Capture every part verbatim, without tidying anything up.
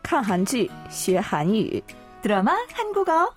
看韩剧学韩语 드라마 한국어.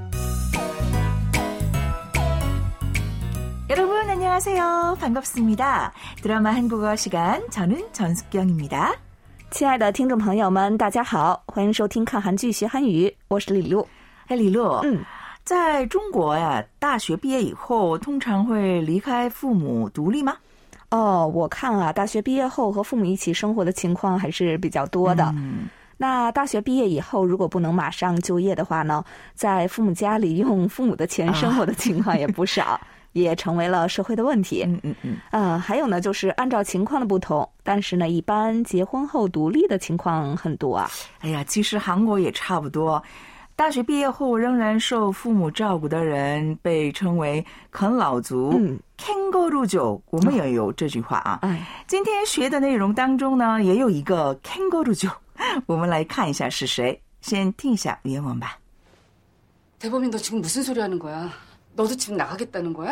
여러분 안녕하세요. 반갑습니다. 드라마 한국어 시간, 저는 전숙경입니다. 亲爱的听众朋友们，大家好，欢迎收听看韩剧学韩语，我是李璐。 哎，李璐， 嗯， 在中国呀，大学毕业以后通常会离开父母独立吗？ 哦，我看啊，大学毕业后和父母一起生活的情况还是比较多的。 嗯， 那大学毕业以后，如果不能马上就业的话呢，在父母家里用父母的钱生活的情况也不少。啊也成为了社会的问题。 嗯嗯嗯。 呃，还有呢，就是按照情况的不同，但是呢，一般结婚后独立的情况很多啊。 哎呀，其实韩国也差不多。大学毕业后仍然受父母照顾的人被称为啃老族。嗯，캥거루족，我们也有这句话啊。 哎， 今天学的内容当中呢，也有一个캥거루족，我们来看一下是谁。先听一下原文吧。 대범이 너 지금 무슨 소리 하는 거야? 너도 집 나가겠다는 거야?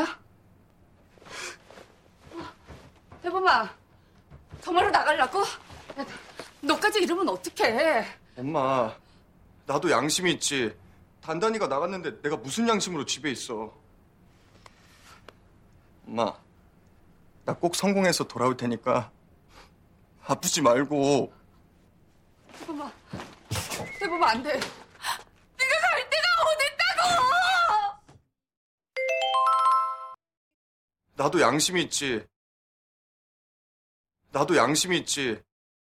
대범아, 정말로 나가려고? 야, 너까지 이러면 어떡해? 엄마, 나도 양심이 있지. 단단이가 나갔는데 내가 무슨 양심으로 집에 있어. 엄마, 나 꼭 성공해서 돌아올 테니까 아프지 말고. 대범아, 대범아 안 돼. 네가 갈 데가 어딨다고! 나도 양심이 있지. 나도 양심이 있지.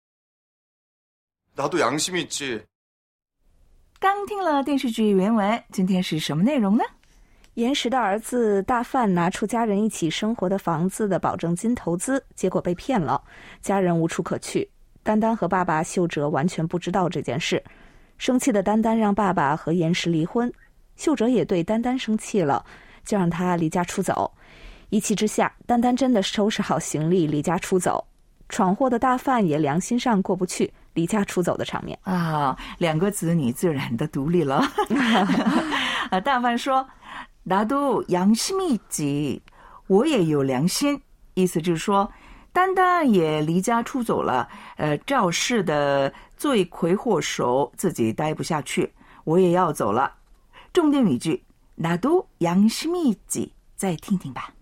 나도 양심이 있지. 刚听了电视剧原文，今天是什么内容呢？ 严实的儿子大范拿出家人一起生活的房子的保证金投资，结果被骗了，家人无处可去。丹丹和爸爸秀哲完全不知道这件事，生气的丹丹让爸爸和严实离婚，秀哲也对丹丹生气了，就让他离家出走。一气之下，丹丹真的收拾好行李离家出走。闯祸的大范也良心上过不去离家出走的场面啊，两个子女自然的独立了。啊，大范说 나도 양심이 있지， 我也有良心，意思就是说丹丹也离家出走了，呃，肇事的罪魁祸首自己待不下去，我也要走了。重点语句 나도 양심이 있지， 再听听吧。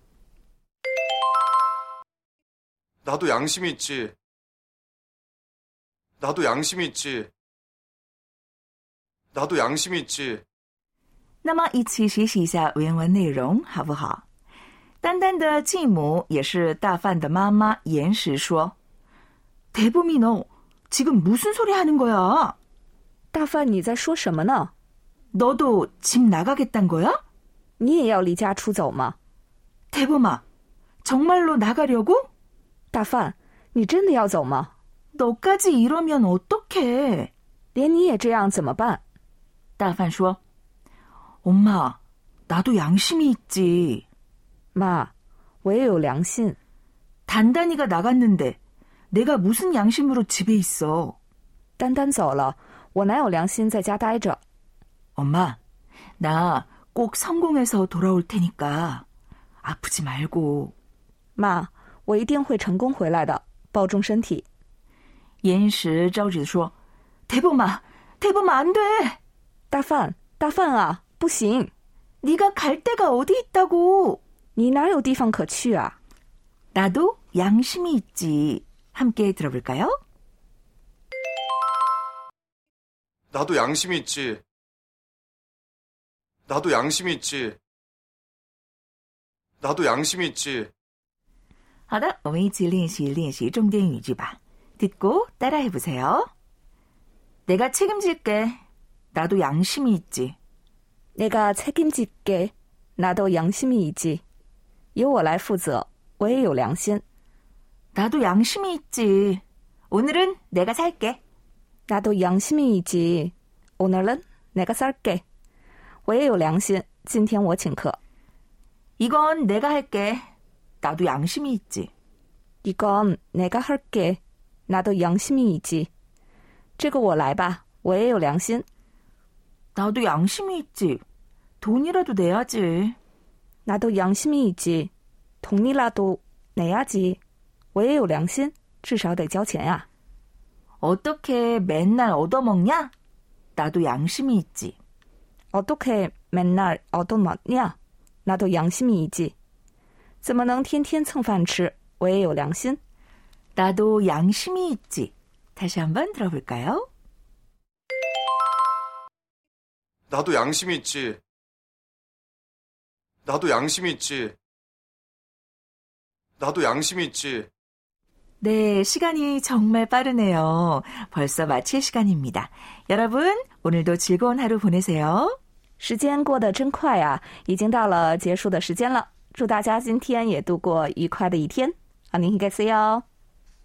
나도 양심이 있지. 나도 양심이 있지. 나도 양심이 있지. 那么一起学习一下原文内容好不好？丹丹的继母也是大范的妈妈严实说 대범이 너 지금 무슨 소리 하는 거야? 大范你在说什么呢？ 너도 집 나가겠단 거야? 你也要离家出走吗？ 대범아 정말로 나가려고? 大范你真的要走吗？ 너까지 이러면 어떡해? 连你也这样怎么办？ 大范说 엄마 나도 양심이 있지. 妈，我也有良心。 단단이가 나갔는데 내가 무슨 양심으로 집에 있어? 丹丹走了，我哪有良心在家待着？ 엄마, 나 꼭 성공해서 돌아올 테니까 아프지 말고. 妈，我一定会成功回来的，保重身体。 严实着急地说 대범아, 대범아 안 돼. 大范，大范啊，不行， 네가 갈 데가 어디 있다고. 你哪有地方可去啊？ 나도 양심이 있지. 함께 들어볼까요? 나도 양심이 있지. 나도 양심이 있지. 나도 양심이 있지. 好的，我们一起练习练习重点语句吧。 듣고 따라해보세요. 내가 책임질게. 나도 양심이 있지. 내가 책임질게. 나도 양심이 있지. 由我来负责，我也有良心。 나도 양심이 있지. 오늘은 내가 살게. 나도 양심이 있지. 오늘은 내가 살게. 我也有良心，今天我请客。 이건 내가 할게. 나도 양심이 있지. 이건 내가 할게. 나도 양심이 있지. 这个我来吧，我也有良心。 나도 양심이 있지. 돈이라도 내야지. 나도 양심이 있지. 돈이라도 내야지. 我也有良心，至少得交钱呀。 어떻게 맨날 얻어먹냐? 나도 양심이 있지. 어떻게 맨날 얻어먹냐? 나도 양심이 있지. 怎么能天天蹭饭吃? 我也有良心. 나도 양심이 있지. 다시 한번 들어볼까요? 나도 양심이 있지. 나도 양심이 있지. 나도 양심이 있지. 네, 시간이 정말 빠르네요. 벌써 마칠 시간입니다. 여러분, 오늘도 즐거운 하루 보내세요. 时间过得真快啊，已经到了结束的时间了。祝大家今天也度过愉快的一天。안녕히 계세요。